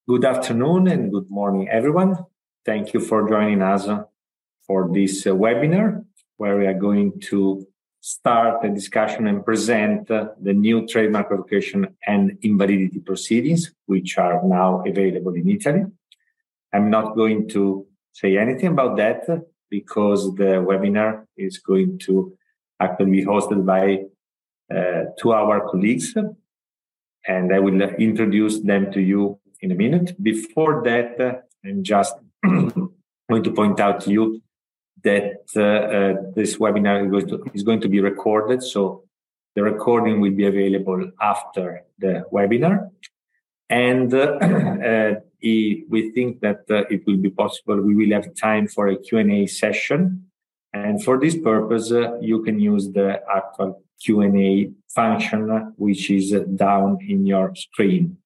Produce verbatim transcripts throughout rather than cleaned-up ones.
Good afternoon and good morning, everyone. Thank you for joining us for this uh, webinar, where we are going to start a discussion and present uh, the new trademark revocation and invalidity proceedings, which are now available in Italy. I'm not going to say anything about that because the webinar is going to actually be hosted by uh, two of our colleagues, and I will introduce them to you in a minute. Before that, uh, I'm just going to point out to you that uh, uh, this webinar is going, to, is going to be recorded, so the recording will be available after the webinar. And uh, uh, we think that uh, it will be possible, we will have time for a Q and A session. And for this purpose, uh, you can use the actual Q and A function, which is uh, down in your screen.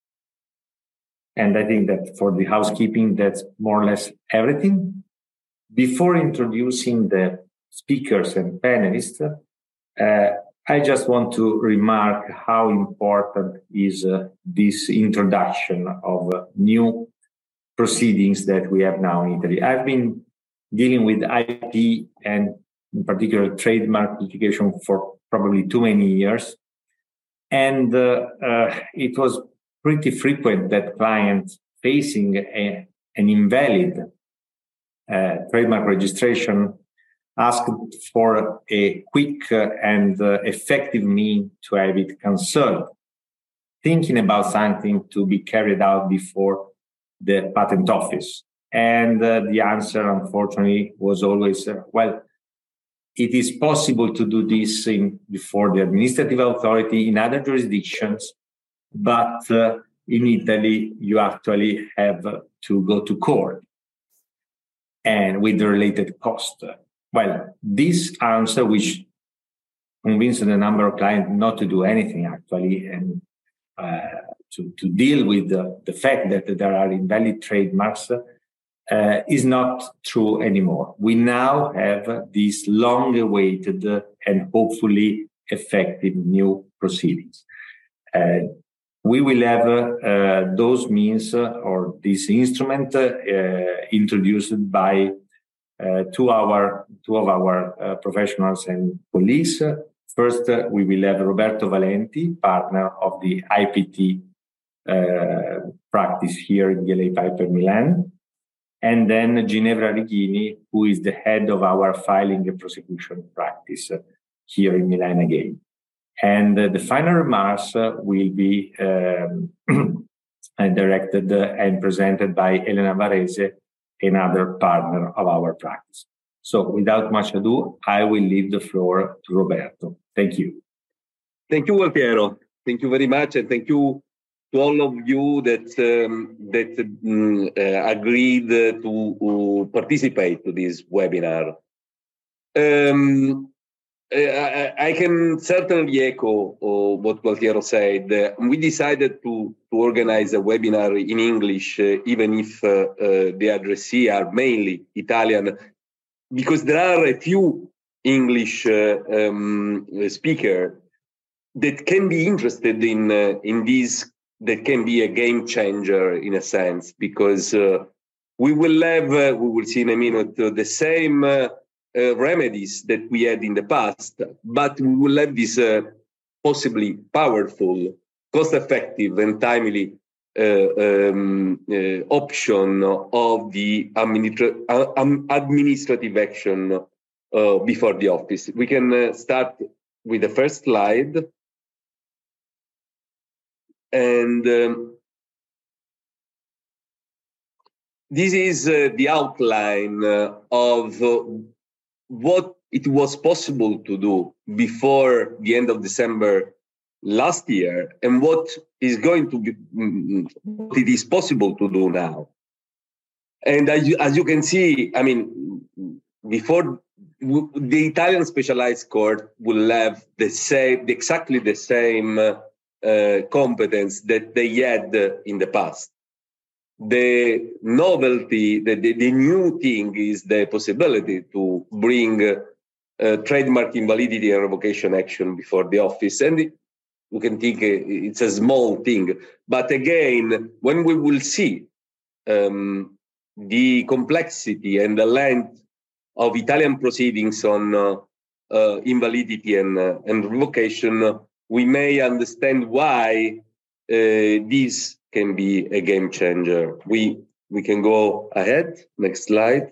And I think that for the housekeeping, that's more or less everything. Before introducing the speakers and panelists, uh, I just want to remark how important is uh, this introduction of uh, new proceedings that we have now in Italy. I've been dealing with I P and in particular trademark litigation for probably too many years. And uh, uh, it was pretty frequent that clients facing a, an invalid uh, trademark registration asked for a quick uh, and uh, effective means to have it cancelled, thinking about something to be carried out before the patent office. And uh, the answer, unfortunately, was always, uh, well, it is possible to do this in, before the administrative authority in other jurisdictions, but uh, in Italy, you actually have to go to court and with the related cost. Well, this answer, which convinced a number of clients not to do anything actually, and uh, to, to deal with the, the fact that there are invalid trademarks, uh, is not true anymore. We now have these long-awaited and hopefully effective new proceedings. Uh, We will have uh, those means uh, or this instrument uh, introduced by uh, two, our, two of our uh, professionals and colleagues. First, uh, we will have Roberto Valenti, partner of the I P T uh, practice here in D L A Piper Milan. And then Ginevra Righini, who is the head of our filing and prosecution practice uh, here in Milan again. And uh, the final remarks uh, will be um, directed uh, and presented by Elena Varese, another partner of our practice. So without much ado, I will leave the floor to Roberto. Thank you. Thank you, Gualtiero. Thank you very much. And thank you to all of you that, um, that um, uh, agreed to uh, participate to this webinar. Um, Uh, I, I can certainly echo uh, what Gualtiero said. Uh, we decided to, to organize a webinar in English, uh, even if uh, uh, the addressee are mainly Italian, because there are a few English uh, um, speakers that can be interested in uh, in this, that can be a game changer in a sense, because uh, we will have, uh, we will see in a minute, uh, the same uh, Uh, remedies that we had in the past, but we will have this uh, possibly powerful, cost-effective and timely uh, um, uh, option of the administra um, administrative action uh, before the office. We can uh, start with the first slide. And um, this is uh, the outline uh, of uh, what it was possible to do before the end of December last year, and what is going to be, what it is possible to do now. And as you, as you can see, I mean, before the Italian specialized court will have the same, exactly the same uh, competence that they had in the past. The novelty, the, the, the new thing is the possibility to bring uh, uh, trademark invalidity and revocation action before the office. And we can think it's a small thing. But again, when we will see um, the complexity and the length of Italian proceedings on uh, uh, invalidity and, uh, and revocation, uh, we may understand why uh, this can be a game changer. We, we can go ahead. Next slide.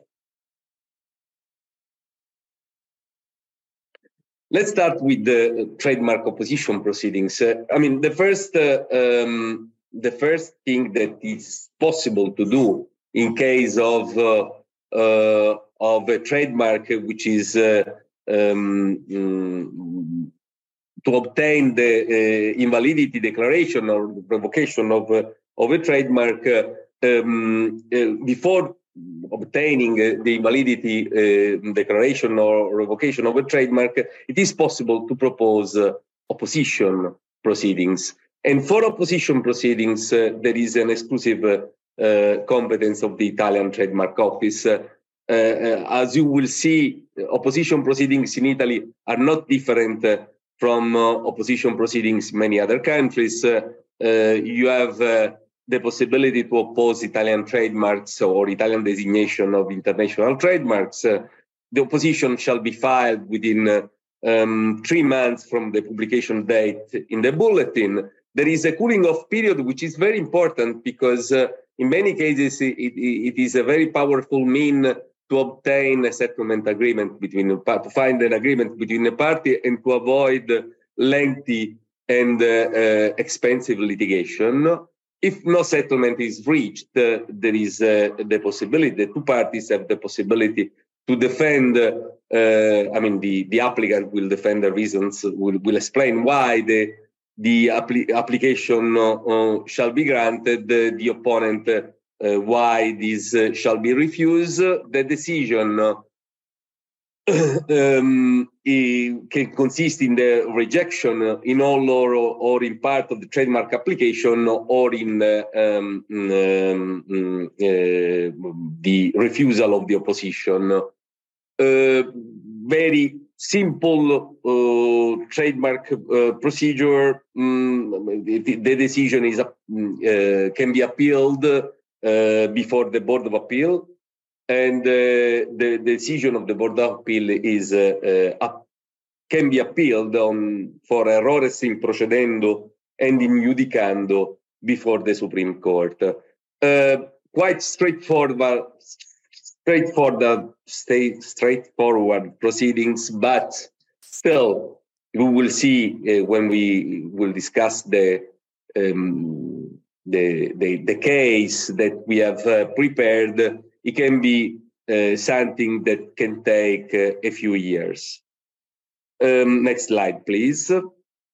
Let's start with the trademark opposition proceedings. Uh, I mean, the first, uh, um, the first thing that is possible to do in case of uh, uh, of a trademark which is uh, um, um, to obtain the uh, invalidity declaration or revocation of uh, of a trademark uh, um, uh, before obtaining uh, the invalidity uh, declaration or revocation of a trademark, it is possible to propose uh, opposition proceedings. And for opposition proceedings, uh, there is an exclusive uh, uh, competence of the Italian Trademark Office. Uh, uh, as you will see, opposition proceedings in Italy are not different uh, from uh, opposition proceedings in many other countries. Uh, uh, you have uh, the possibility to oppose Italian trademarks or Italian designation of international trademarks. Uh, the opposition shall be filed within uh, um, three months from the publication date in the bulletin. There is a cooling off period, which is very important because uh, in many cases it, it, it is a very powerful mean to obtain a settlement agreement between the to find an agreement between the party and to avoid lengthy and uh, uh, expensive litigation. If no settlement is reached, uh, there is uh, the possibility, the two parties have the possibility to defend, uh, I mean, the, the applicant will defend the reasons, will, will explain why the, the appli- application uh, uh, shall be granted, uh, the opponent uh, uh, why this uh, shall be refused. The decision uh, um, can consist in the rejection in all or, or in part of the trademark application or in uh, um, um, uh, the refusal of the opposition. Uh, very simple uh, trademark uh, procedure. Um, the, the decision is uh, can be appealed uh, before the Board of Appeal. And uh, the decision of the Board of Appeal is uh, uh, up, can be appealed on for errores in procedendo and in judicando before the Supreme Court. Uh, quite straightforward, straightforward, stay, straightforward proceedings, but still, we will see uh, when we will discuss the um, the, the the case that we have uh, prepared. It can be uh, something that can take uh, a few years. Um, next slide, please. Uh,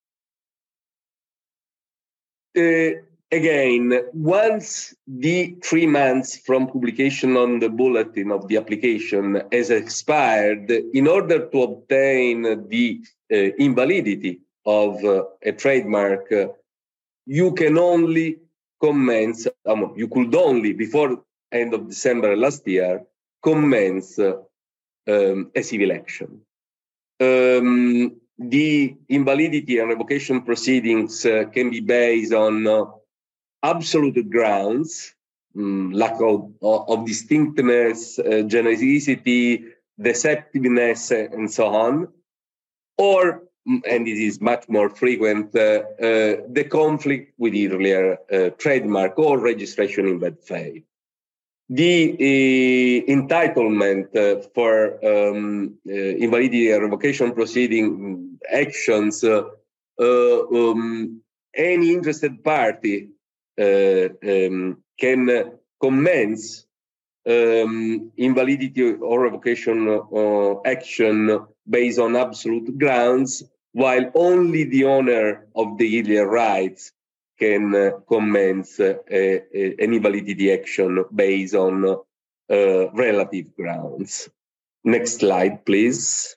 again, once the three months from publication on the bulletin of the application has expired, in order to obtain the uh, invalidity of uh, a trademark, uh, you can only commence, um, you could only, before end of December last year, commence uh, um, a civil action. Um, the invalidity and revocation proceedings uh, can be based on uh, absolute grounds, um, lack of, of distinctness, uh, genericity, deceptiveness, and so on, or, and this is much more frequent, uh, uh, the conflict with earlier uh, trademark or registration in bad faith. The uh, entitlement uh, for um, uh, invalidity and revocation proceeding actions, uh, uh, um, any interested party uh, um, can commence um, invalidity or revocation uh, action based on absolute grounds, while only the owner of the illegal rights can uh, commence uh, a, a, an invalidity action based on uh, relative grounds. Next slide, please.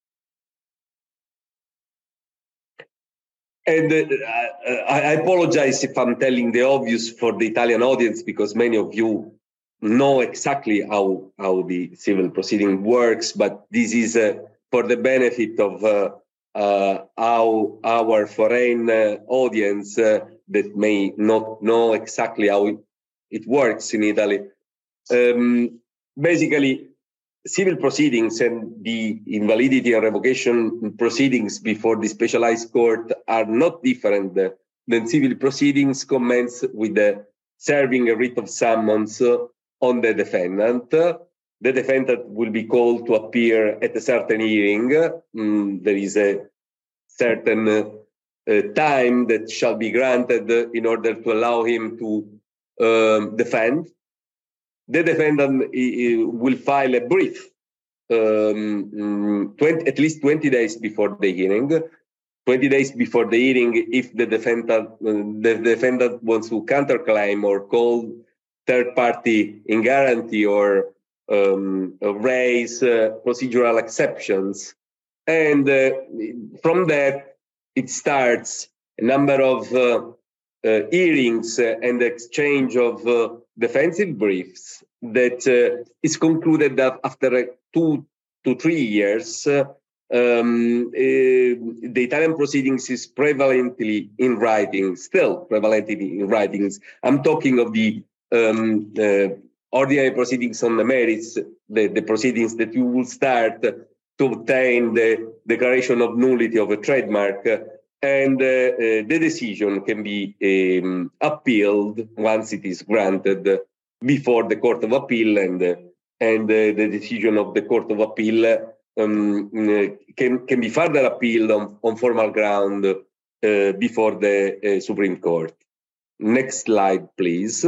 And uh, I, I apologize if I'm telling the obvious for the Italian audience, because many of you know exactly how, how the civil proceeding works, but this is uh, for the benefit of, uh, uh, how our foreign uh, audience uh, that may not know exactly how it, it works in Italy. Um, basically, civil proceedings and the invalidity and revocation proceedings before the specialized court are not different than civil proceedings commence with the serving a writ of summons on the defendant. The defendant will be called to appear at a certain hearing. Mm, there is a certain uh, time that shall be granted in order to allow him to um, defend. The defendant uh, will file a brief um, twenty, at least twenty days before the hearing. twenty days before the hearing, if the defendant, uh, the defendant wants to counterclaim or call third party in guarantee or um, raise uh, procedural exceptions. And uh, from that, it starts a number of uh, uh, hearings uh, and exchange of uh, defensive briefs that uh, is concluded that after uh, two to three years, uh, um, uh, the Italian proceedings is prevalently in writing, still prevalently in writings. I'm talking of the um, uh, ordinary proceedings on the merits, the, the proceedings that you will start to obtain the declaration of nullity of a trademark, uh, and uh, uh, the decision can be um, appealed once it is granted before the Court of Appeal, and uh, and uh, the decision of the Court of Appeal um, can can be further appealed on, on formal ground uh, before the uh, Supreme Court. Next slide, please.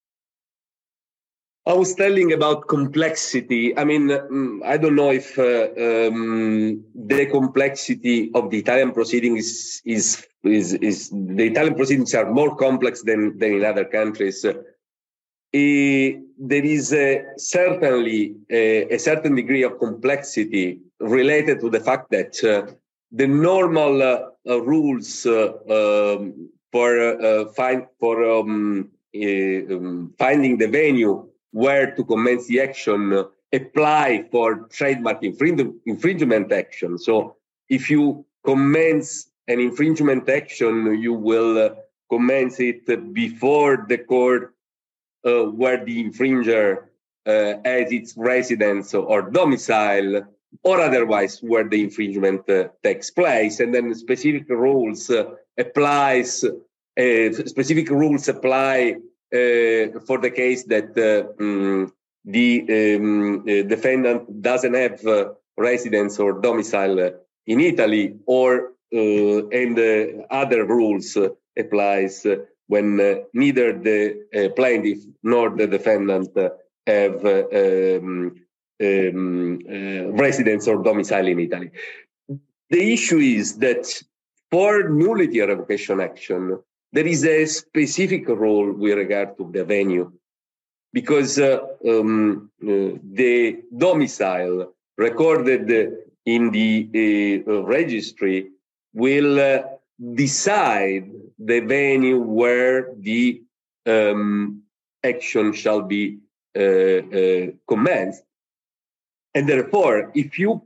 I was telling about complexity. I mean, I don't know if uh, um, the complexity of the Italian proceedings is, is, is, the Italian proceedings are more complex than, than in other countries. Uh, there is uh, certainly a, a certain degree of complexity related to the fact that uh, the normal uh, uh, rules uh, um, for, uh, find, for um, uh, um, finding the venue where to commence the action uh, apply for trademark infring- infringement action. So if you commence an infringement action, you will uh, commence it before the court uh, where the infringer uh, has its residence or domicile, or otherwise where the infringement uh, takes place. And then specific rules uh, applies, uh, specific rules apply Uh, for the case that uh, um, the um, uh, defendant doesn't have uh, residence or domicile in Italy, or uh, and uh, other rules uh, applies uh, when uh, neither the uh, plaintiff nor the defendant uh, have uh, um, um, uh, residence or domicile in Italy. The issue is that for nullity or revocation action, there is a specific role with regard to the venue, because uh, um, uh, the domicile recorded in the uh, registry will uh, decide the venue where the um, action shall be uh, uh, commenced. And therefore, if you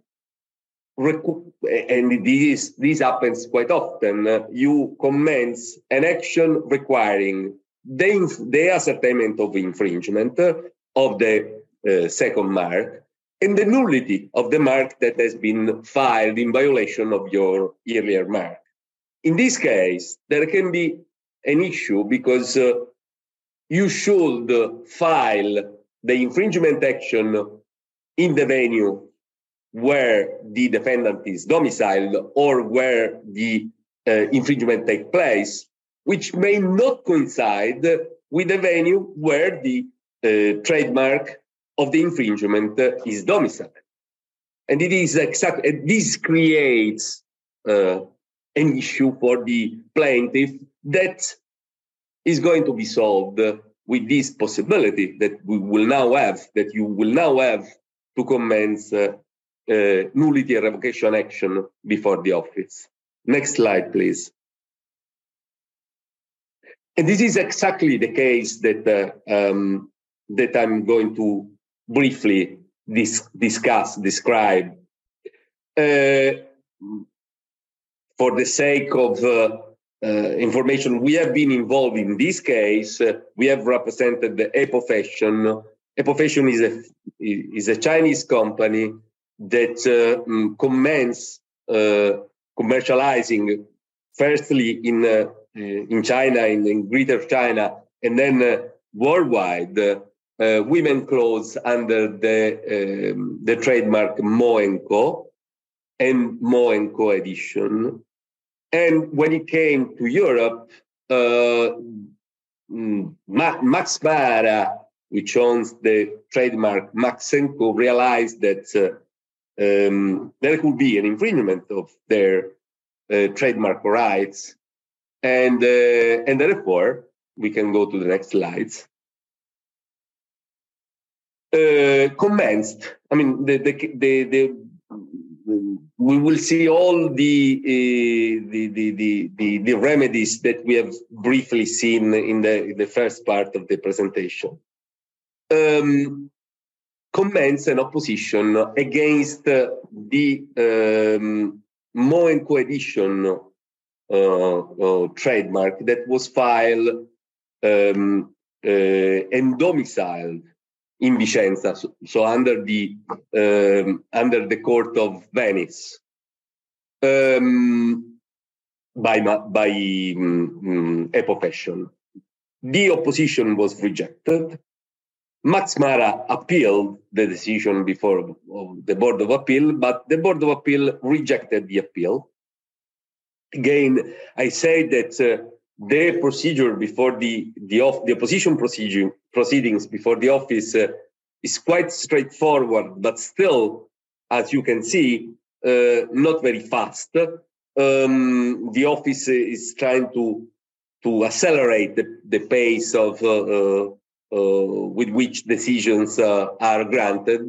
and this this happens quite often, uh, you commence an action requiring the, the ascertainment of infringement of the uh, second mark and the nullity of the mark that has been filed in violation of your earlier mark. In this case, there can be an issue because uh, you should file the infringement action in the venue where the defendant is domiciled or where the uh, infringement takes place, which may not coincide with the venue where the uh, trademark of the infringement uh, is domiciled. And it is exactly, this creates uh, an issue for the plaintiff that is going to be solved with this possibility that we will now have, that you will now have to commence uh, Uh, nullity and revocation action before the office. Next slide, please. And this is exactly the case that uh, um, that I'm going to briefly dis- discuss, describe. Uh, for the sake of uh, uh, information, we have been involved in this case. Uh, we have represented the Epofashion. Epofashion is a is a Chinese company that uh, commenced uh, commercializing firstly in uh, in China, in, in Greater China, and then uh, worldwide, uh, uh, women clothes under the um, the trademark Mo and Co. and Mo and Co edition. And when it came to Europe, uh, Ma- Max Mara, which owns the trademark Max and Co, realized that uh, um, there could be an infringement of their uh, trademark rights, and uh, and therefore we can go to the next slides. Uh, commenced. I mean, the the the, the we will see all the, uh, the, the, the, the, the remedies that we have briefly seen in the, in the first part of the presentation. Um, commence an opposition against uh, the um, Mo and Co edition uh, uh, trademark that was filed um, uh, and domiciled in Vicenza, so, so under the um, under the court of Venice, um, by by um, Epofashion. The opposition was rejected. Max Mara appealed the decision before the Board of Appeal, but the Board of Appeal rejected the appeal. Again, I say that uh, the procedure before the the, off, the opposition procedure proceedings before the office uh, is quite straightforward, but still, as you can see, uh, not very fast. Um, the office is trying to to accelerate the, the pace of uh, uh, uh, with which decisions uh, are granted.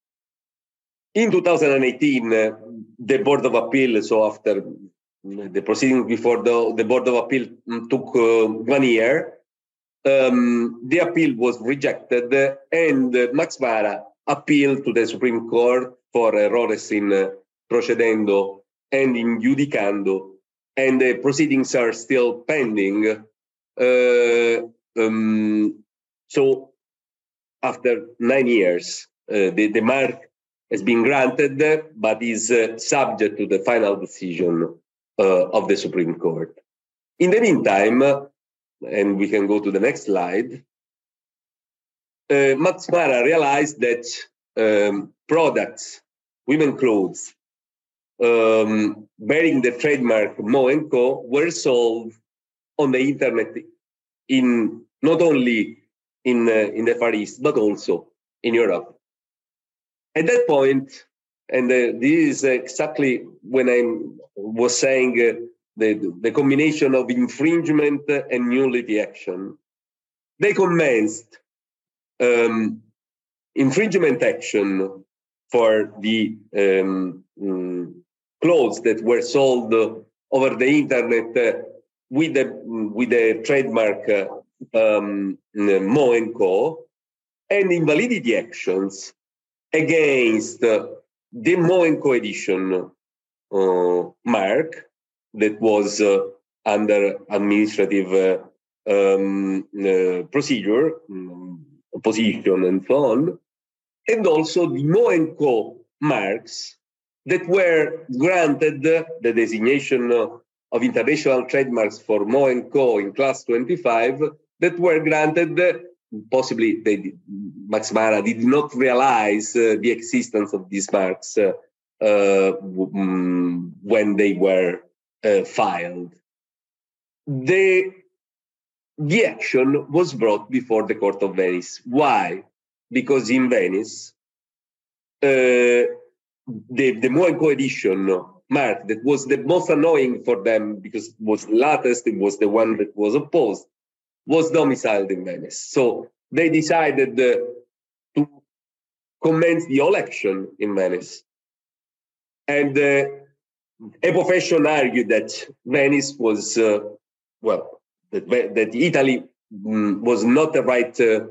In two thousand eighteen, uh, the Board of Appeal, so after the proceedings before the, the Board of Appeal took uh, one year. Um, the appeal was rejected, uh, and uh, Max Mara appealed to the Supreme Court for errores in uh, procedendo and in judicando, and the proceedings are still pending. Uh, um, so, after nine years, uh, the, the mark has been granted, but is uh, subject to the final decision Uh, of the Supreme Court. In the meantime, uh, and we can go to the next slide, uh, Max Mara realized that um, products, women clothes, um, bearing the trademark Mo and Co were sold on the internet in not only in uh, in the Far East but also in Europe. At that point, and uh, this is exactly when I was saying uh, the, the combination of infringement and nullity action. They commenced um, infringement action for the um, um, clothes that were sold uh, over the internet uh, with the with the trademark uh, um, Mo and Co, and invalidity actions against uh, the Mo and Co edition uh, mark that was uh, under administrative uh, um, uh, procedure, um, opposition, and so on, and also the Mo and Co marks that were granted uh, the designation uh, of international trademarks for Mo and Co in class twenty-five that were granted. Uh, Possibly, they, Max Mara did not realize uh, the existence of these marks uh, uh, um, when they were uh, filed. The, the action was brought before the Court of Venice. Why? Because in Venice, uh, the, the Mo and Co edition mark that was the most annoying for them because it was the latest, it was the one that was opposed, was domiciled in Venice. So they decided uh, to commence the whole action in Venice. And uh, Epofashion argued that Venice was, uh, well, that, that Italy um, was not the right uh,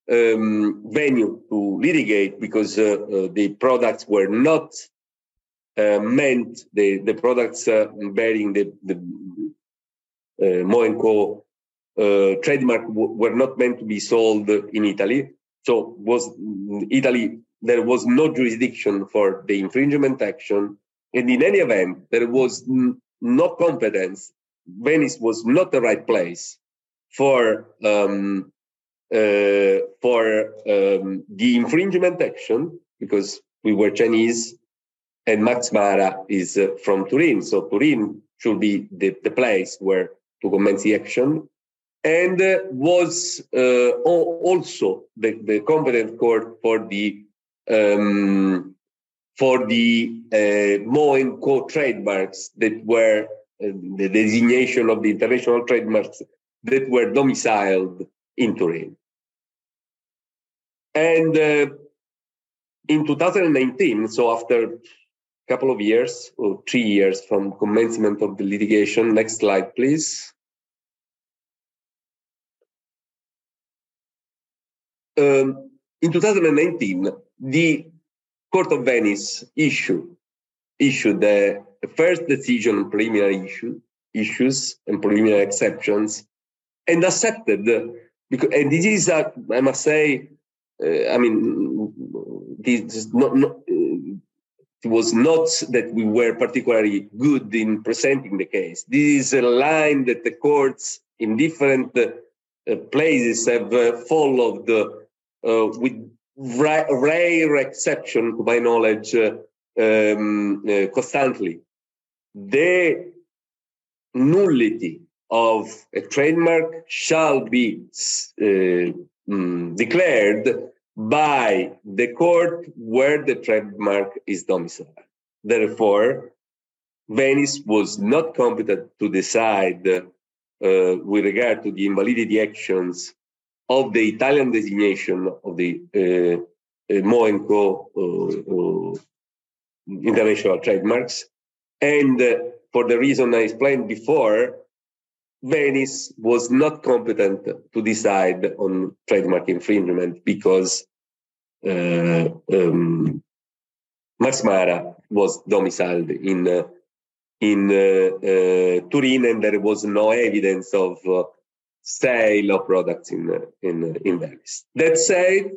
um, venue to litigate because uh, uh, the products were not uh, meant the, the products uh, bearing the, the uh, Mo and Co uh, trademark w- were not meant to be sold in Italy. So was Italy, there was no jurisdiction for the infringement action. And in any event, there was n- no competence. Venice was not the right place for um, uh, for um, the infringement action, because we were Chinese and Max Mara is uh, from Turin. So Turin should be the, the place where to commence the action. And uh, was uh, also the, the competent court for the um, for the uh, Mo and Co trademarks that were uh, the designation of the international trademarks that were domiciled in Turin. And uh, in two thousand nineteen, so after a couple of years or three years from commencement of the litigation, next slide, please. Um, in two thousand nineteen, the Court of Venice issued issued the first decision on preliminary issue, issues and preliminary exceptions, and accepted. Because, and this is, a, I must say, uh, I mean, this is not, not uh, it was not that we were particularly good in presenting the case. This is a line that the courts in different uh, places have uh, followed uh, with ra- rare exception, to my knowledge, uh, um, uh, constantly. The nullity of a trademark shall be uh, um, declared by the court where the trademark is domiciled. Therefore, Venice was not competent to decide uh, with regard to the invalidity actions of the Italian designation of the uh, uh, Mo and Co uh, uh, international trademarks. And uh, for the reason I explained before, Venice was not competent to decide on trademark infringement because uh, um, Max Mara was domiciled in uh, in uh, uh, Turin, and there was no evidence of uh, sale of products in uh, in in Venice. That said,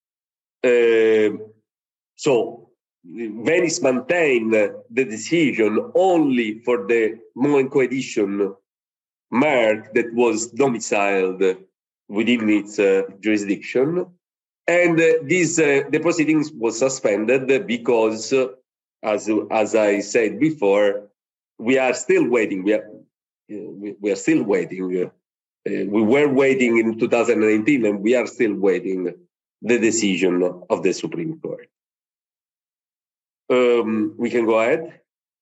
uh, so Venice maintained the decision only for the Mo and Co edition mark that was domiciled within its uh, jurisdiction. And uh, this, uh, the proceedings was suspended because, uh, as, as I said before, we are still waiting. We are, uh, we, we are still waiting. Uh, we were waiting in two thousand nineteen, and we are still waiting the decision of the Supreme Court. Um, we can go ahead.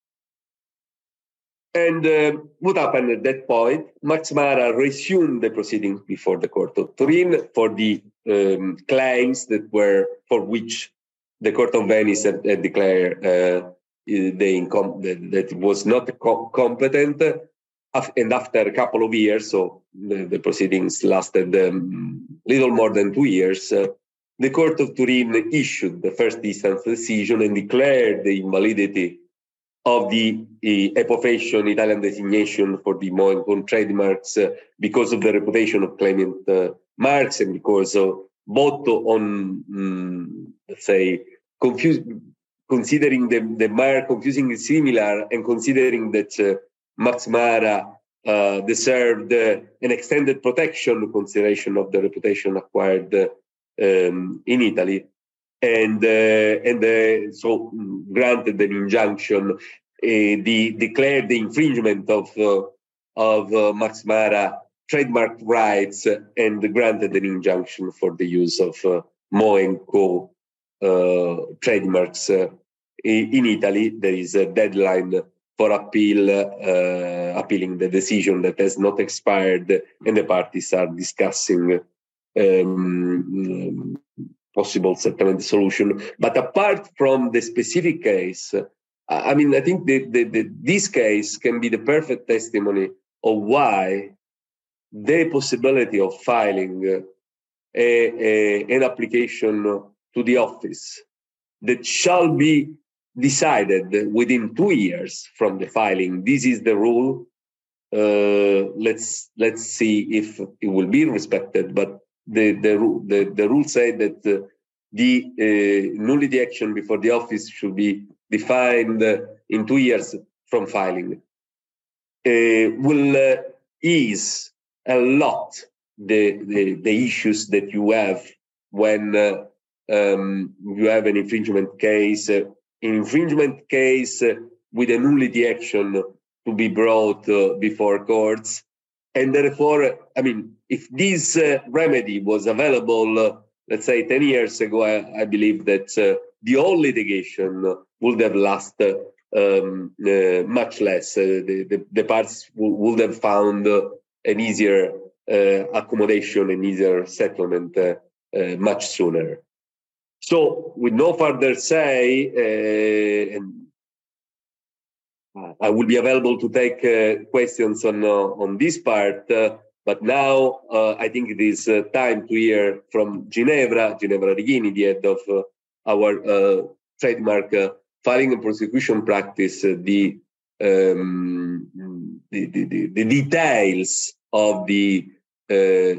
And uh, what happened at that point? Max Mara resumed the proceedings before the Court of Turin for the um, claims that were for which the Court of Venice had, had declared uh, the incom- that, that it was not co- competent. And after a couple of years, so the, the proceedings lasted um, little more than two years, uh, the Court of Turin issued the first instance decision and declared the invalidity of the uh, Epofashion Italian designation for the Mo and Co trademarks uh, because of the reputation of claimant uh, marks and because of both on, um, let's say, confuse, considering the, the mark confusingly similar and considering that uh, Max Mara uh, deserved uh, an extended protection consideration of the reputation acquired uh, um, in Italy. And uh, and uh, so granted an injunction, uh, the declared the infringement of uh, of uh, Max Mara trademark rights and granted an injunction for the use of uh, Mo and Co uh, trademarks uh, in Italy. There is a deadline for appeal, uh, appealing the decision that has not expired, and the parties are discussing Um, possible settlement solution. But apart from the specific case, I mean, I think that the, the, this case can be the perfect testimony of why the possibility of filing a, a, an application to the office that shall be decided within two years from the filing. This is the rule. Uh, let's let's see if it will be respected. But the the the, the rule said that uh, the uh, nullity action before the office should be defined uh, in two years from filing. Uh, will uh, ease a lot the, the the issues that you have when uh, um, you have an infringement case. Uh, infringement case uh, with a nullity action to be brought uh, before courts. And therefore, I mean, if this uh, remedy was available, uh, let's say ten years ago, I, I believe that uh, the whole litigation would have lasted um, uh, much less. Uh, the, the, the parties w- would have found uh, an easier uh, accommodation, an easier settlement uh, uh, much sooner. So, with no further say, uh, and I will be available to take uh, questions on uh, on this part. Uh, but now uh, I think it is uh, time to hear from Ginevra, Ginevra Righini, the head of uh, our uh, trademark uh, filing and prosecution practice, uh, the, um, the, the, the the details of the uh,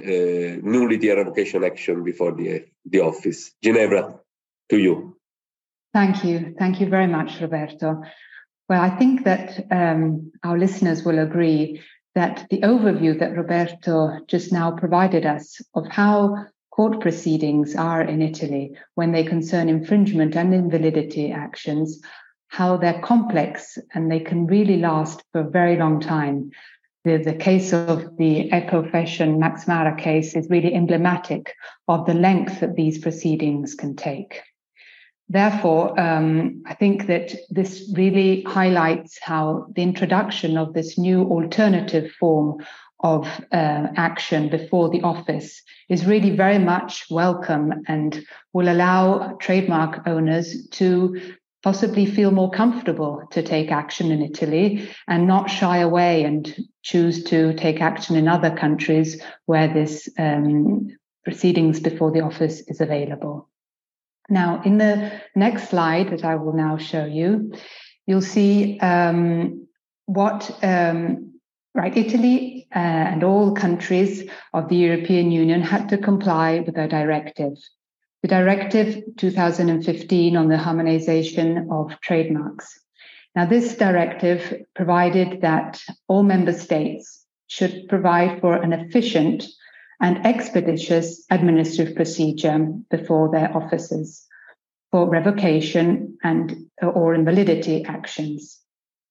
uh, nullity and revocation action before the the office. Ginevra, to you. Thank you. Thank you very much, Roberto. Well, I think that um, our listeners will agree that the overview that Roberto just now provided us of how court proceedings are in Italy when they concern infringement and invalidity actions, how they're complex and they can really last for a very long time. The, the case of the Ecofashion Max Mara case is really emblematic of the length that these proceedings can take. Therefore, um, I think that this really highlights how the introduction of this new alternative form of uh, action before the office is really very much welcome and will allow trademark owners to possibly feel more comfortable to take action in Italy and not shy away and choose to take action in other countries where this um, proceedings before the office is available. Now, in the next slide that I will now show you, you'll see um, what, um, right, Italy uh, and all countries of the European Union had to comply with a directive. The Directive two thousand fifteen on the harmonization of trademarks. Now, this directive provided that all member states should provide for an efficient and expeditious administrative procedure before their offices for revocation and or invalidity actions.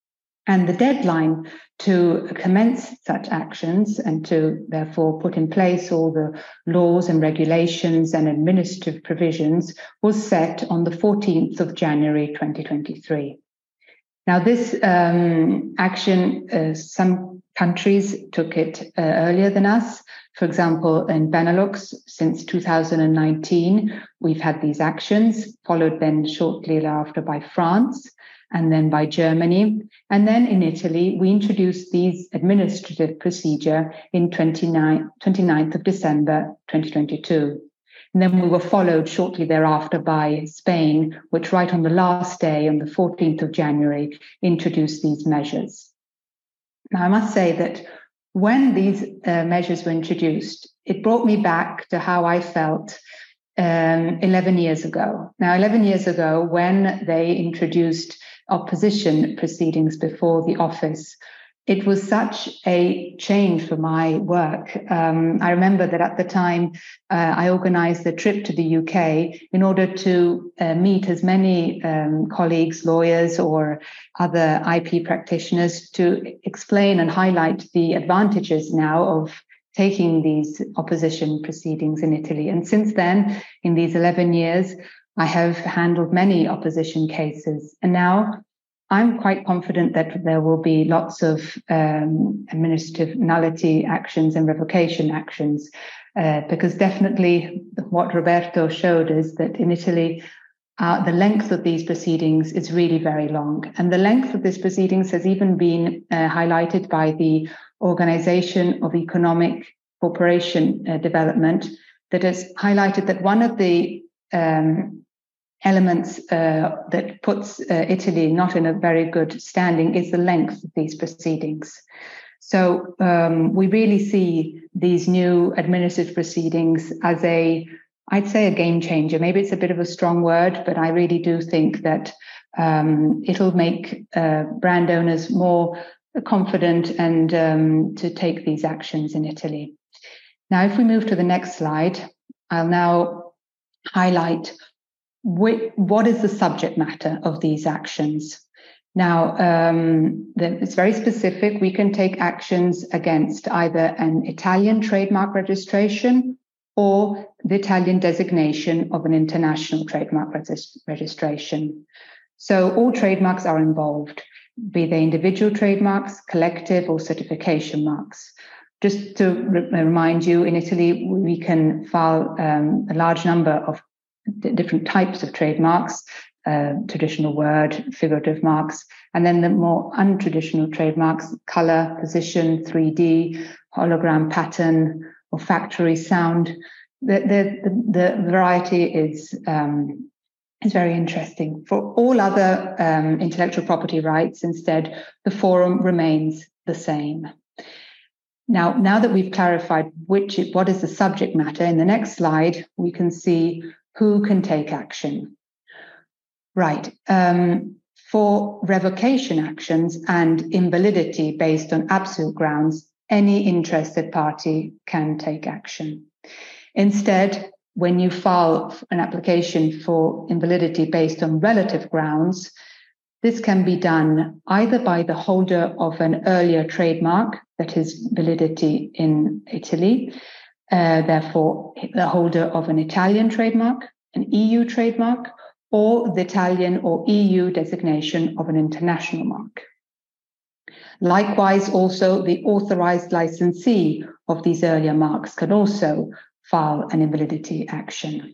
And the deadline to commence such actions and to therefore put in place all the laws and regulations and administrative provisions was set on the fourteenth of January twenty twenty-three. Now, this um, action, uh, some countries took it uh, earlier than us. For example, in Benelux, since two thousand nineteen, we've had these actions, followed then shortly thereafter by France, and then by Germany. And then in Italy, we introduced these administrative procedure in twenty-ninth of December, twenty twenty-two. And then we were followed shortly thereafter by Spain, which right on the last day, on the fourteenth of January, introduced these measures. Now, I must say that when these uh, measures were introduced, it brought me back to how I felt um, eleven years ago. Now, eleven years ago, when they introduced opposition proceedings before the office, it was such a change for my work. Um, I remember that at the time, uh, I organized a trip to the U K in order to uh, meet as many um, colleagues, lawyers, or other I P practitioners to explain and highlight the advantages now of taking these opposition proceedings in Italy. And since then, in these eleven years, I have handled many opposition cases. And now I'm quite confident that there will be lots of um, administrative nullity actions and revocation actions, uh, because definitely what Roberto showed is that in Italy, uh, the length of these proceedings is really very long. And the length of these proceedings has even been uh, highlighted by the Organization of Economic Cooperation uh, Development, that has highlighted that one of the um, elements uh, that puts uh, Italy not in a very good standing is the length of these proceedings. So um, we really see these new administrative proceedings as a, I'd say, a game changer. Maybe it's a bit of a strong word, but I really do think that um, it'll make uh, brand owners more confident and um, to take these actions in Italy. Now, if we move to the next slide, I'll now highlight wh- what is the subject matter of these actions. Now, um, the, it's very specific. We can take actions against either an Italian trademark registration or the Italian designation of an international trademark regis- registration. So all trademarks are involved, be they individual trademarks, collective or certification marks. Just to re- remind you, in Italy, we can file um, a large number of d- different types of trademarks, uh, traditional word, figurative marks, and then the more untraditional trademarks, color, position, three D, hologram, pattern, or factory sound. The, the, the variety is, um, is very interesting. For all other um, intellectual property rights, instead, the forum remains the same. Now, now that we've clarified which what is the subject matter, in the next slide, we can see who can take action. Right. Um, for revocation actions and invalidity based on absolute grounds, any interested party can take action. Instead, when you file an application for invalidity based on relative grounds, this can be done either by the holder of an earlier trademark that has validity in Italy, uh, therefore the holder of an Italian trademark, an E U trademark, or the Italian or E U designation of an international mark. Likewise, also the authorized licensee of these earlier marks can also file an invalidity action.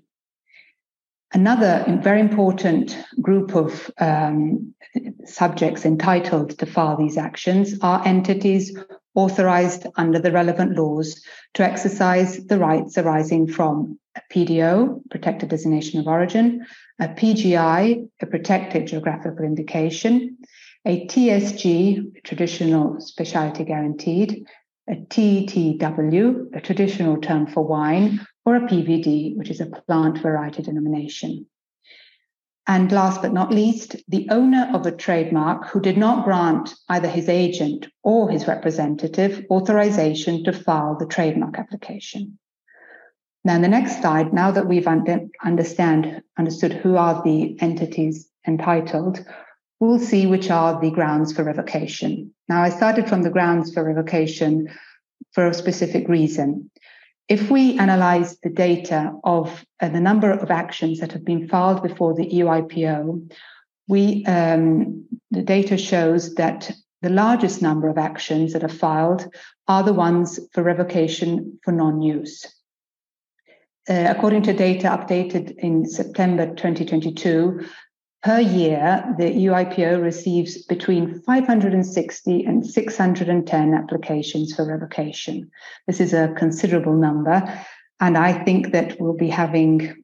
Another very important group of um, subjects entitled to file these actions are entities authorized under the relevant laws to exercise the rights arising from a P D O, Protected Designation of Origin, a P G I, a Protected Geographical Indication, a T S G, Traditional Specialty Guaranteed, a T T W, a traditional term for wine, or a P V D, which is a plant variety denomination. And last but not least, the owner of a trademark who did not grant either his agent or his representative authorization to file the trademark application. Now, in the next slide, now that we've under, understand, understood who are the entities entitled, we'll see which are the grounds for revocation. Now, I started from the grounds for revocation for a specific reason. If we analyze the data of uh, the number of actions that have been filed before the E U I P O, we, um, the data shows that the largest number of actions that are filed are the ones for revocation for non-use. Uh, according to data updated in September twenty twenty-two, per year, the E U I P O receives between five hundred sixty and six hundred ten applications for revocation. This is a considerable number, and I think that we'll be having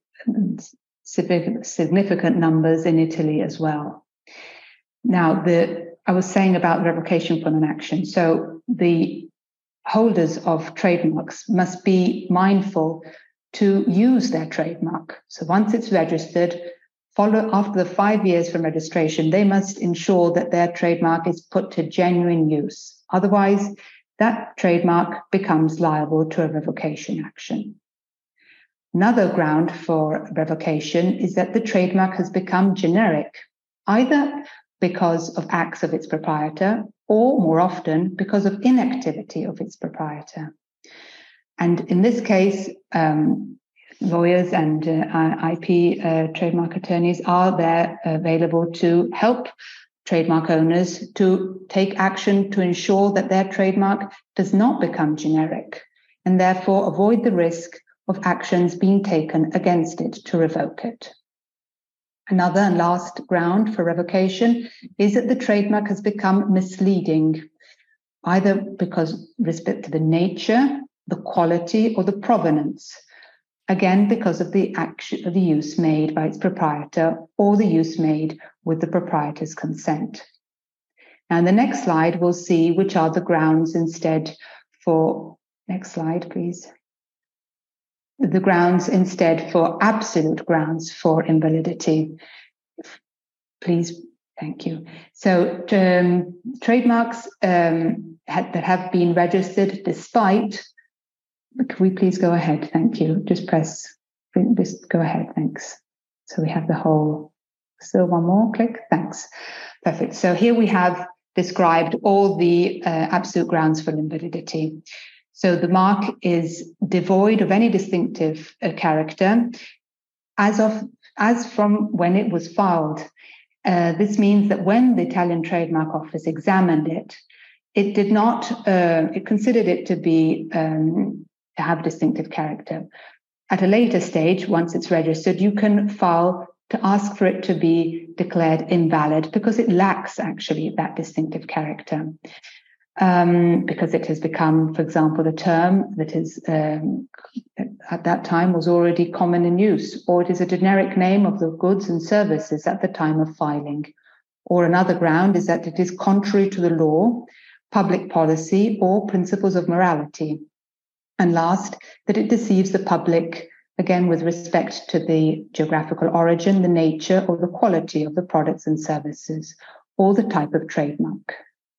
significant numbers in Italy as well. Now, the I was saying about revocation for non-action. So the holders of trademarks must be mindful to use their trademark. So once it's registered, follow after the five years from registration, they must ensure that their trademark is put to genuine use. Otherwise, that trademark becomes liable to a revocation action. Another ground for revocation is that the trademark has become generic, either because of acts of its proprietor or, more often, because of inactivity of its proprietor. And in this case, um, lawyers and uh, I P uh, trademark attorneys are there available to help trademark owners to take action to ensure that their trademark does not become generic and therefore avoid the risk of actions being taken against it to revoke it. Another and last ground for revocation is that the trademark has become misleading, either because with respect to the nature, the quality, or the provenance again because of the action of the use made by its proprietor or the use made with the proprietor's consent. Now, in the next slide, we'll see which are the grounds instead for, next slide, please. The grounds instead for absolute grounds for invalidity. Please, thank you. So um, trademarks um, had, that have been registered despite, can we please go ahead? Thank you. Just press, just go ahead, thanks. So we have the whole, still one more, click, thanks. Perfect. So here we have described all the uh, absolute grounds for invalidity. So the mark is devoid of any distinctive uh, character as of as from when it was filed. Uh, this means that when the Italian Trademark Office examined it, it did not. Uh, it considered it to be um, to have distinctive character. At a later stage, once it's registered, you can file to ask for it to be declared invalid because it lacks actually that distinctive character. Um, because it has become, for example, a term that is um, at that time was already common in use, or it is a generic name of the goods and services at the time of filing. Or another ground is that it is contrary to the law, public policy, or principles of morality. And last, that it deceives the public, again, with respect to the geographical origin, the nature, or the quality of the products and services, or the type of trademark.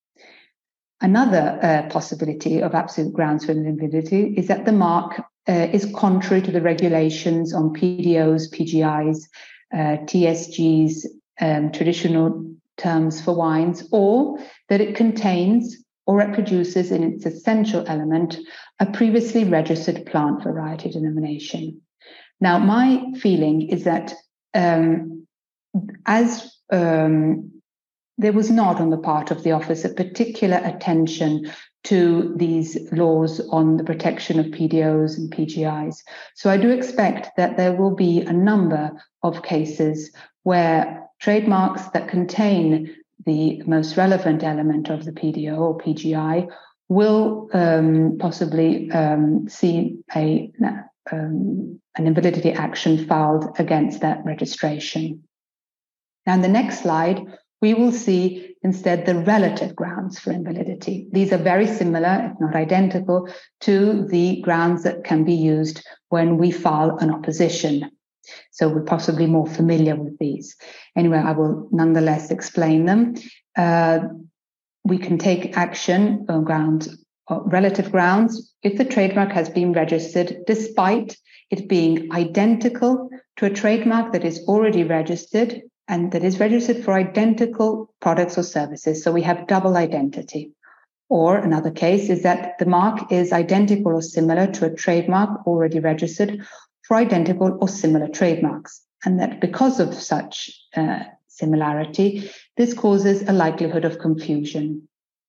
Another uh, possibility of absolute grounds for invalidity is that the mark uh, is contrary to the regulations on P D Os, P G Is, uh, T S Gs, um, traditional terms for wines, or that it contains or reproduces in its essential element a previously registered plant variety denomination. Now, my feeling is that um, as um, there was not on the part of the office a particular attention to these laws on the protection of P D Os and P G Is. So I do expect that there will be a number of cases where trademarks that contain the most relevant element of the P D O or P G I will um, possibly um, see a, um, an invalidity action filed against that registration. Now, in the next slide, we will see instead the relative grounds for invalidity. These are very similar, if not identical, to the grounds that can be used when we file an opposition. So we're possibly more familiar with these. Anyway, I will nonetheless explain them. Uh, we can take action on grounds, or relative grounds, if the trademark has been registered despite it being identical to a trademark that is already registered and that is registered for identical products or services. So we have double identity. Or another case is that the mark is identical or similar to a trademark already registered for identical or similar trademarks. And that because of such uh, similarity, this causes a likelihood of confusion.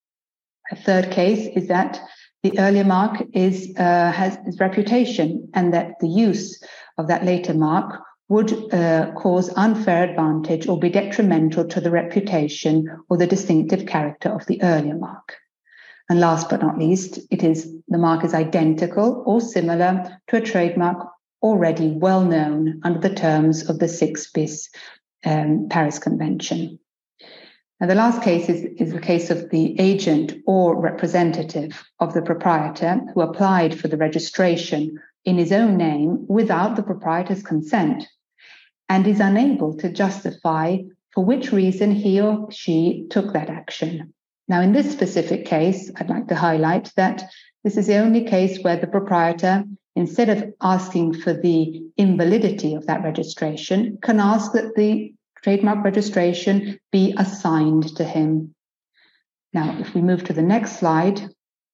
A third case is that the earlier mark is uh, has its reputation and that the use of that later mark would uh, cause unfair advantage or be detrimental to the reputation or the distinctive character of the earlier mark. And last but not least, it is the mark is identical or similar to a trademark already well known under the terms of the six bis um, Paris Convention. And the last case is, is the case of the agent or representative of the proprietor who applied for the registration in his own name without the proprietor's consent and is unable to justify for which reason he or she took that action. Now, in this specific case, I'd like to highlight that this is the only case where the proprietor, instead of asking for the invalidity of that registration, can ask that the trademark registration be assigned to him. Now, if we move to the next slide,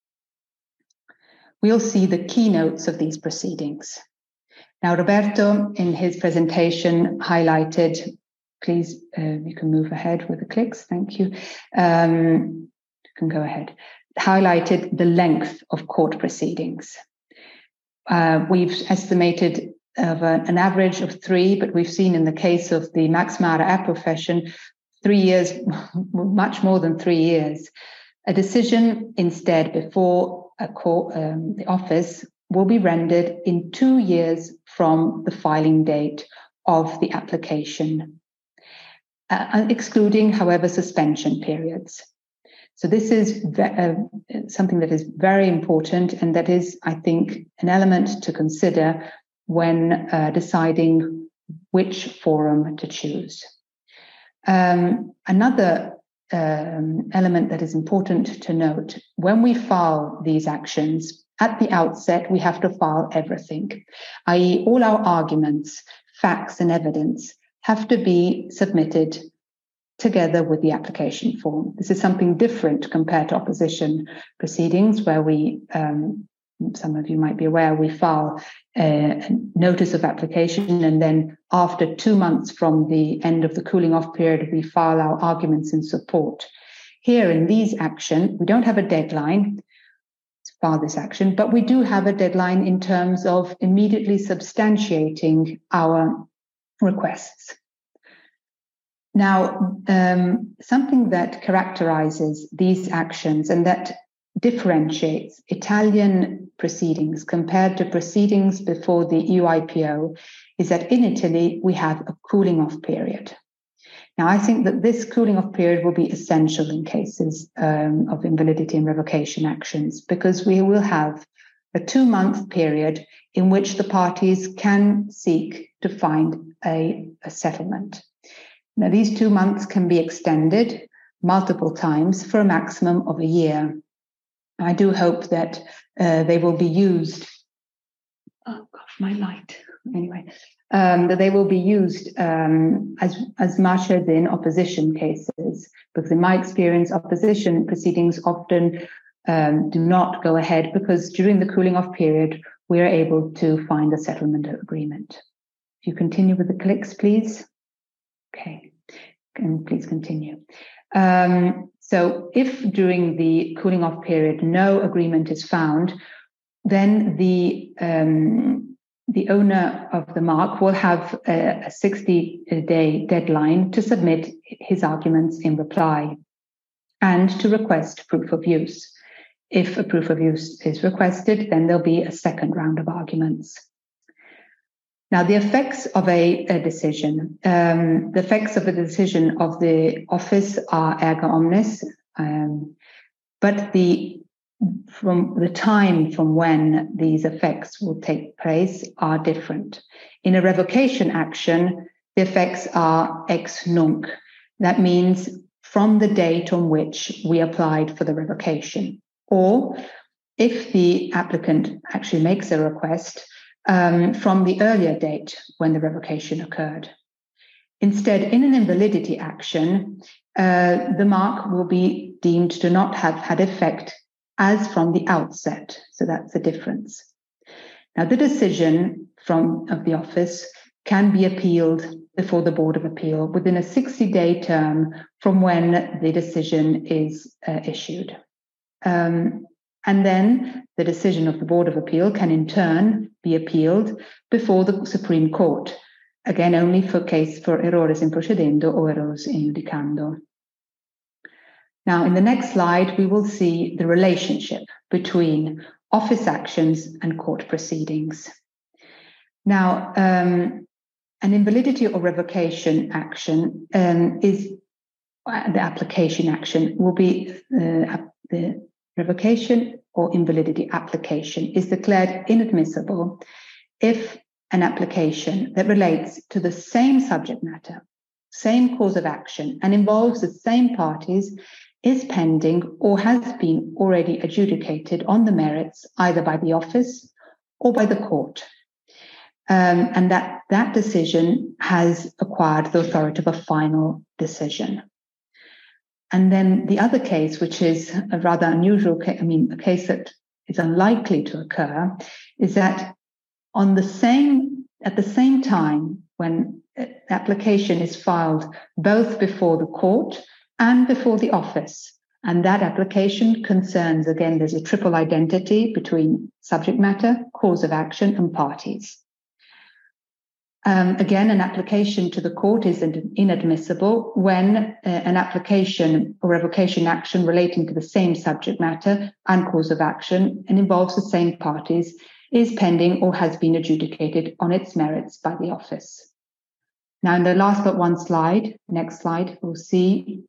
we'll see the keynotes of these proceedings. Now, Roberto, in his presentation, highlighted, please, uh, you can move ahead with the clicks, thank you. Um, you can go ahead. Highlighted the length of court proceedings. Uh, we've estimated of a, an average of three, but we've seen in the case of the Max Mara app profession, three years, much more than three years. A decision instead before a court, um, the office will be rendered in two years from the filing date of the application, uh, excluding, however, suspension periods. So this is ve- uh, something that is very important, and that is, I think, an element to consider when uh, deciding which forum to choose. Um, another um, element that is important to note, when we file these actions, at the outset, we have to file everything, that is all our arguments, facts and evidence have to be submitted together with the application form. This is something different compared to opposition proceedings, where we, um, some of you might be aware, we file a notice of application, and then after two months from the end of the cooling off period, we file our arguments in support. Here in these actions, we don't have a deadline to file this action, but we do have a deadline in terms of immediately substantiating our requests. Now, um, something that characterizes these actions and that differentiates Italian proceedings compared to proceedings before the E U I P O is that in Italy, we have a cooling off period. Now, I think that this cooling off period will be essential in cases um, of invalidity and revocation actions, because we will have a two-month period in which the parties can seek to find a, a settlement. Now, these two months can be extended multiple times for a maximum of a year. I do hope that uh, they will be used. Oh gosh, my light. Anyway, um, that they will be used um, as as much as in opposition cases, because in my experience, opposition proceedings often um, do not go ahead because during the cooling off period, we are able to find a settlement agreement. If you continue with the clicks, please. Okay, and please continue. Um, so if during the cooling off period no agreement is found, then the um, the owner of the mark will have a sixty-day deadline to submit his arguments in reply and to request proof of use. If a proof of use is requested, then there'll be a second round of arguments. Now, the effects of a, a decision, um, the effects of a decision of the office are erga omnes, um, but the from the time from when these effects will take place are different. In a revocation action, the effects are ex nunc. That means from the date on which we applied for the revocation, or if the applicant actually makes a request, Um, from the earlier date when the revocation occurred. Instead, in an invalidity action, uh, the mark will be deemed to not have had effect as from the outset. So that's the difference. Now, the decision from of the office can be appealed before the Board of Appeal within a sixty-day term from when the decision is uh, issued. Um, And then the decision of the Board of Appeal can in turn be appealed before the Supreme Court, again only for case for errores in procedendo or errores in judicando. Now, in the next slide, we will see the relationship between office actions and court proceedings. Now, um, an invalidity or revocation action um, is uh, the application action will be uh, the revocation or invalidity application is declared inadmissible if an application that relates to the same subject matter, same cause of action, and involves the same parties is pending or has been already adjudicated on the merits either by the office or by the court. Um, and that that decision has acquired the authority of a final decision. And then the other case, which is a rather unusual case, I mean, a case that is unlikely to occur, is that on the same, at the same time, when application is filed both before the court and before the office, and that application concerns, again, there's a triple identity between subject matter, cause of action, and parties. Um, again, an application to the court is inadmissible when uh, an application or revocation action relating to the same subject matter and cause of action and involves the same parties is pending or has been adjudicated on its merits by the office. Now, in the last but one slide, next slide, we'll see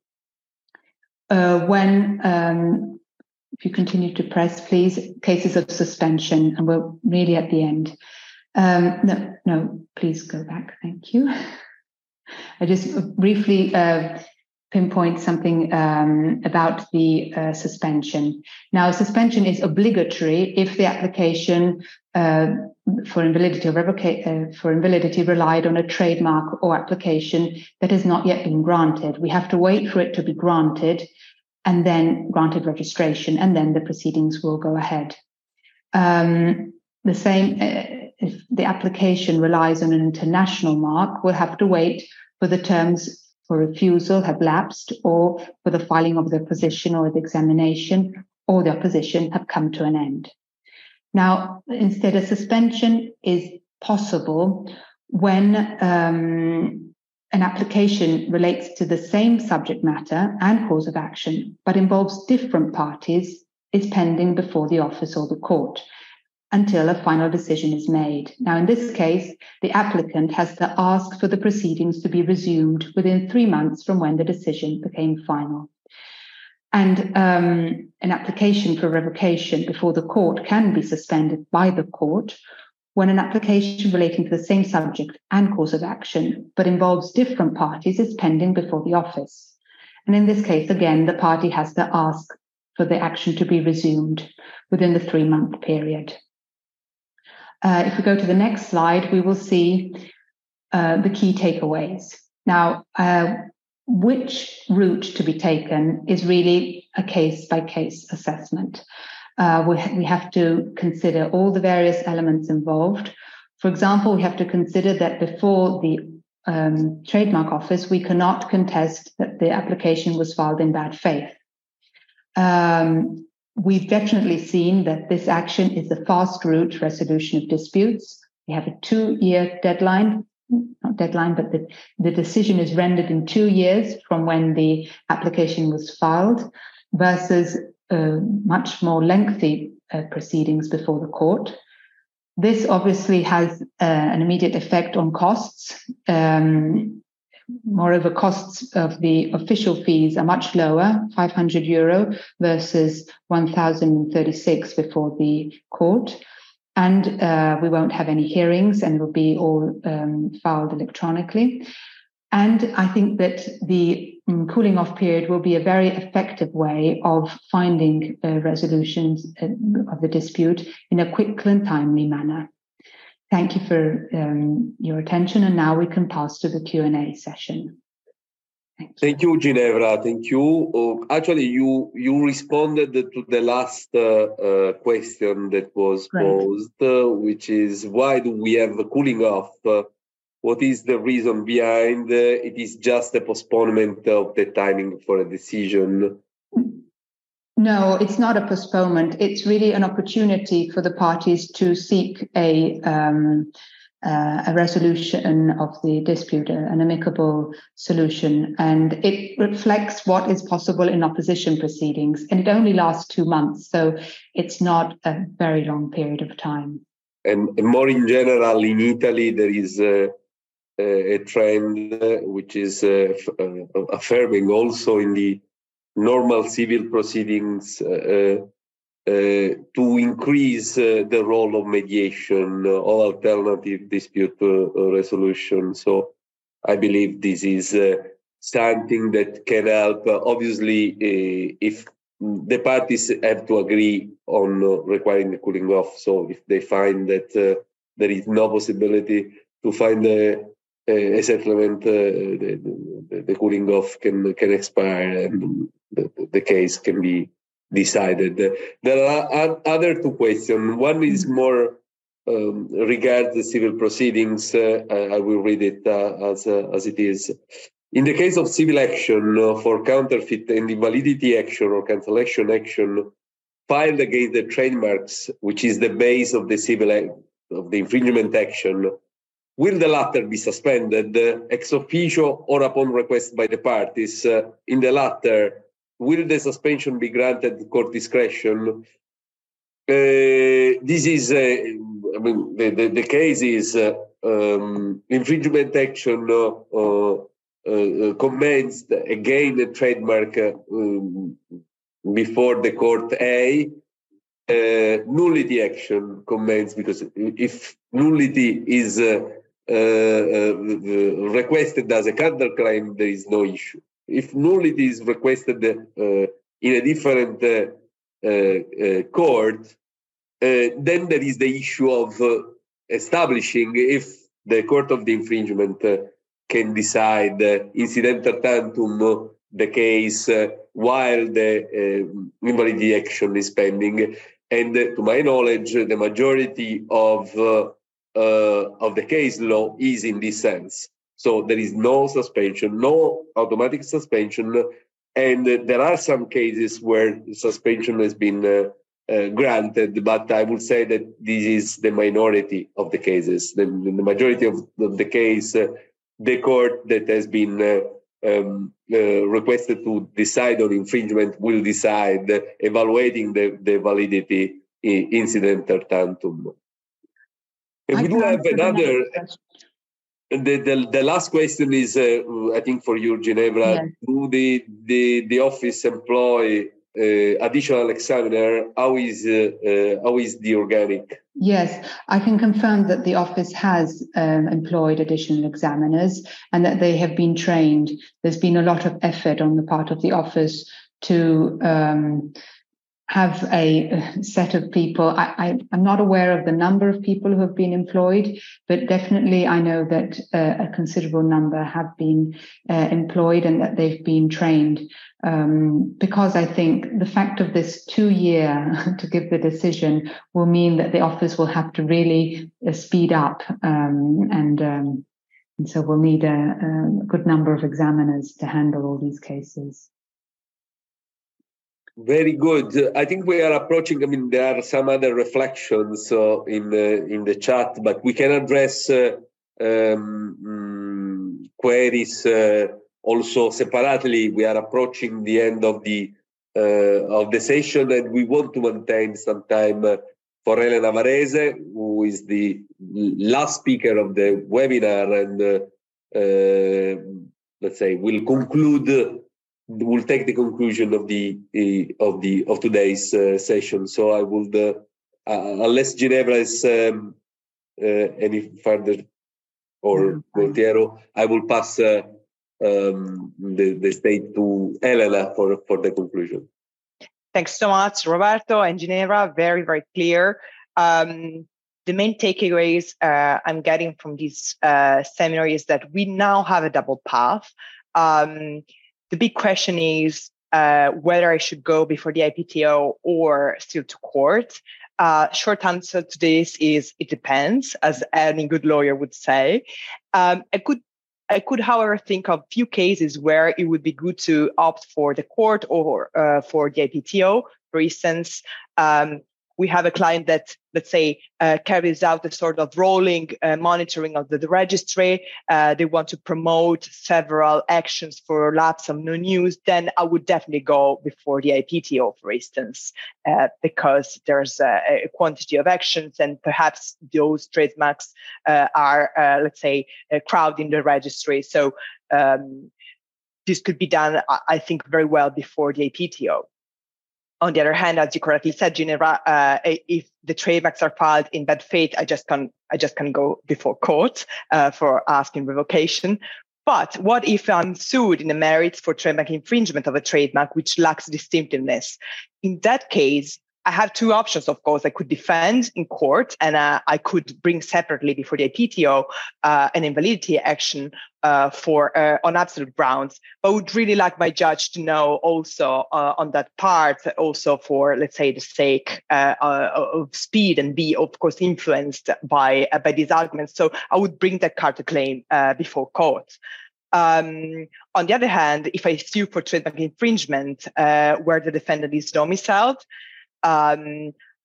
uh, when, um, if you continue to press, please, cases of suspension, and we're really at the end. Um, no, no, please go back. Thank you. I just briefly uh, pinpoint something um, about the uh, suspension. Now, suspension is obligatory if the application uh, for invalidity or revoca- uh, for invalidity relied on a trademark or application that has not yet been granted. We have to wait for it to be granted and then granted registration, and then the proceedings will go ahead. Um, the same, uh, if the application relies on an international mark, we'll have to wait for the terms for refusal have lapsed, or for the filing of the opposition or the examination or the opposition have come to an end. Now, instead, a suspension is possible when um, an application relates to the same subject matter and cause of action, but involves different parties, is pending before the office or the court until a final decision is made. Now, in this case, the applicant has to ask for the proceedings to be resumed within three months from when the decision became final. And um, an application for revocation before the court can be suspended by the court when an application relating to the same subject and cause of action, but involves different parties, is pending before the office. And in this case, again, the party has to ask for the action to be resumed within the three-month period. Uh, if we go to the next slide, we will see uh, the key takeaways. Now, uh, which route to be taken is really a case-by-case assessment. Uh, we, ha- we have to consider all the various elements involved. For example, we have to consider that before the um, trademark office, we cannot contest that the application was filed in bad faith. Um, We've definitely seen that this action is the fast route resolution of disputes. We have a two-year deadline, not deadline, but the, the decision is rendered in two years from when the application was filed, versus uh, much more lengthy uh, proceedings before the court. This obviously has uh, an immediate effect on costs. Um, Moreover, costs of the official fees are much lower, five hundred euro versus one thousand thirty-six before the court. And uh, we won't have any hearings, and it will be all um, filed electronically. And I think that the um, cooling off period will be a very effective way of finding uh, resolutions uh, of the dispute in a quick and timely manner. Thank you for um, your attention, and now we can pass to the Q and A session. Thank you, Thank you, Ginevra. Thank you. Uh, actually, you you responded to the last uh, uh, question that was Great. posed, uh, which is why do we have a cooling off? Uh, what is the reason behind? Uh, it is just a postponement of the timing for a decision. No, it's not a postponement. It's really an opportunity for the parties to seek a um, uh, a resolution of the dispute, an amicable solution, and it reflects what is possible in opposition proceedings. And it only lasts two months, so it's not a very long period of time. And, and more in general, in Italy, there is a, a trend uh, which is uh, f- uh, affirming also in the normal civil proceedings uh, uh, to increase uh, the role of mediation uh, or alternative dispute uh, resolution. So I believe this is uh, something that can help. Uh, obviously, uh, if the parties have to agree on uh, requiring the cooling off. So if they find that uh, there is no possibility to find a, a settlement, uh, the, the, the cooling off can can expire and the, the case can be decided. There are other two questions. One is more um, regards the civil proceedings. Uh, I will read it uh, as uh, as it is. In the case of civil action uh, for counterfeit and invalidity action or cancellation action filed against the trademarks, which is the base of the civil a- of the infringement action, will the latter be suspended uh, ex officio or upon request by the parties? Uh, in the latter, will the suspension be granted court discretion? Uh, this is, uh, I mean, the, the, the case is uh, um, infringement action uh, uh, uh, commenced against the trademark uh, um, before the court A. Uh, nullity action commenced because if nullity is uh, uh, uh, requested as a counterclaim, there is no issue. If nullity is requested uh, in a different uh, uh, uh, court, uh, then there is the issue of uh, establishing if the court of the infringement uh, can decide uh, incidental tantum uh, the case uh, while the uh, invalidity action is pending. And uh, to my knowledge, the majority of uh, uh, of the case law is in this sense. So there is no suspension, no automatic suspension, and uh, there are some cases where suspension has been uh, uh, granted, but I would say that this is the minority of the cases. The, the majority of, of the case, uh, the court that has been uh, Um, uh, requested to decide on infringement will decide, uh, evaluating the, the validity in incidental tantum. And we do have another. The, the, the last question is, uh, I think, for you, Ginevra. Yes. Do the, the, the office employ uh, additional examiner? How is uh, uh, how is the organic? Yes, I can confirm that the office has um, employed additional examiners and that they have been trained. There's been a lot of effort on the part of the office to um, have a set of people. I, I, I'm not aware of the number of people who have been employed, but definitely I know that uh, a considerable number have been uh, employed and that they've been trained. Um, because I think the fact of this two year to give the decision will mean that the office will have to really uh, speed up, um, and, um, and so we'll need a, a good number of examiners to handle all these cases. Very good. I think we are approaching. I mean, there are some other reflections uh, in the in the chat, but we can address uh, um, queries uh, also separately. We are approaching the end of the uh, of the session, and we want to maintain some time uh, for Elena Varese, who is the last speaker of the webinar, and uh, uh, let's say will conclude. We'll take the conclusion of the uh, of the of today's uh, session. So I would, uh, uh, unless Ginevra is um, uh, any further, or Gualtiero, I will pass uh, um, the the stage to Elena for for the conclusion. Thanks so much, Roberto and Ginevra. Very very clear. Um, the main takeaways uh, I'm getting from this uh, seminar is that we now have a double path. Um, The big question is uh, whether I should go before the I P T O or still to court. Uh, short answer to this is it depends, as any good lawyer would say. Um, I could, I could, however, think of few cases where it would be good to opt for the court or uh, for the I P T O. For instance, um, we have a client that, let's say, uh, carries out a sort of rolling uh, monitoring of the, the registry. Uh, they want to promote several actions for lapse of no news. Then I would definitely go before the I P T O, for instance, uh, because there's a, a quantity of actions and perhaps those trademarks uh, are, uh, let's say, uh, crowding the registry. So um, this could be done, I think, very well before the I P T O. On the other hand, as you correctly said, Ginevra, uh, if the trademarks are filed in bad faith, I just can I just can go before court uh, for asking revocation. But what if I'm sued in the merits for trademark infringement of a trademark which lacks distinctiveness? In that case, I have two options, of course. I could defend in court, and uh, I could bring separately before the I P T O uh, an invalidity action uh, for uh, on absolute grounds. But I would really like my judge to know also uh, on that part, also for, let's say, the sake uh, uh, of speed, and be, of course, influenced by uh, by these arguments. So I would bring that counterclaim uh, before court. Um, on the other hand, if I sue for trademark infringement uh, where the defendant is domiciled, Um,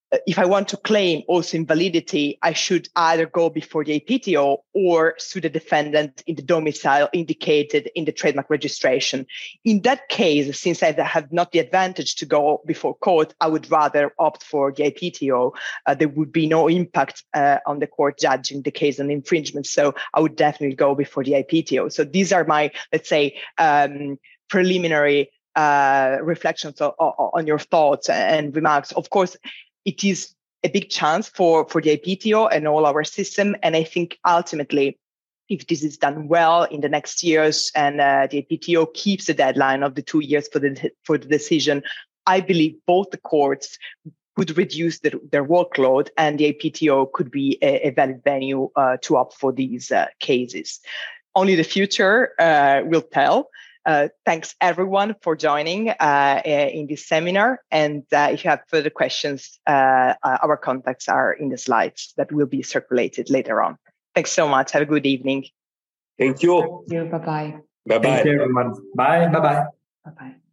if I want to claim also invalidity, I should either go before the A P T O or sue the defendant in the domicile indicated in the trademark registration. In that case, since I have not the advantage to go before court, I would rather opt for the A P T O. Uh, there would be no impact uh, on the court judging the case on infringement. So I would definitely go before the A P T O. So these are my, let's say, um, preliminary uh, reflections on, on your thoughts and remarks. Of course, it is a big chance for, for the A P T O and all our system. And I think ultimately, if this is done well in the next years and uh, the A P T O keeps the deadline of the two years for the for the decision, I believe both the courts would reduce the, their workload and the A P T O could be a, a valid venue uh, to opt for these uh, cases. Only the future uh, will tell. Uh, thanks everyone for joining uh, in this seminar. And uh, if you have further questions, uh, uh, our contacts are in the slides that will be circulated later on. Thanks so much. Have a good evening. Thank you. Thank you. Bye-bye. Bye-bye. Thank you, everyone. Bye. Bye-bye. Bye-bye.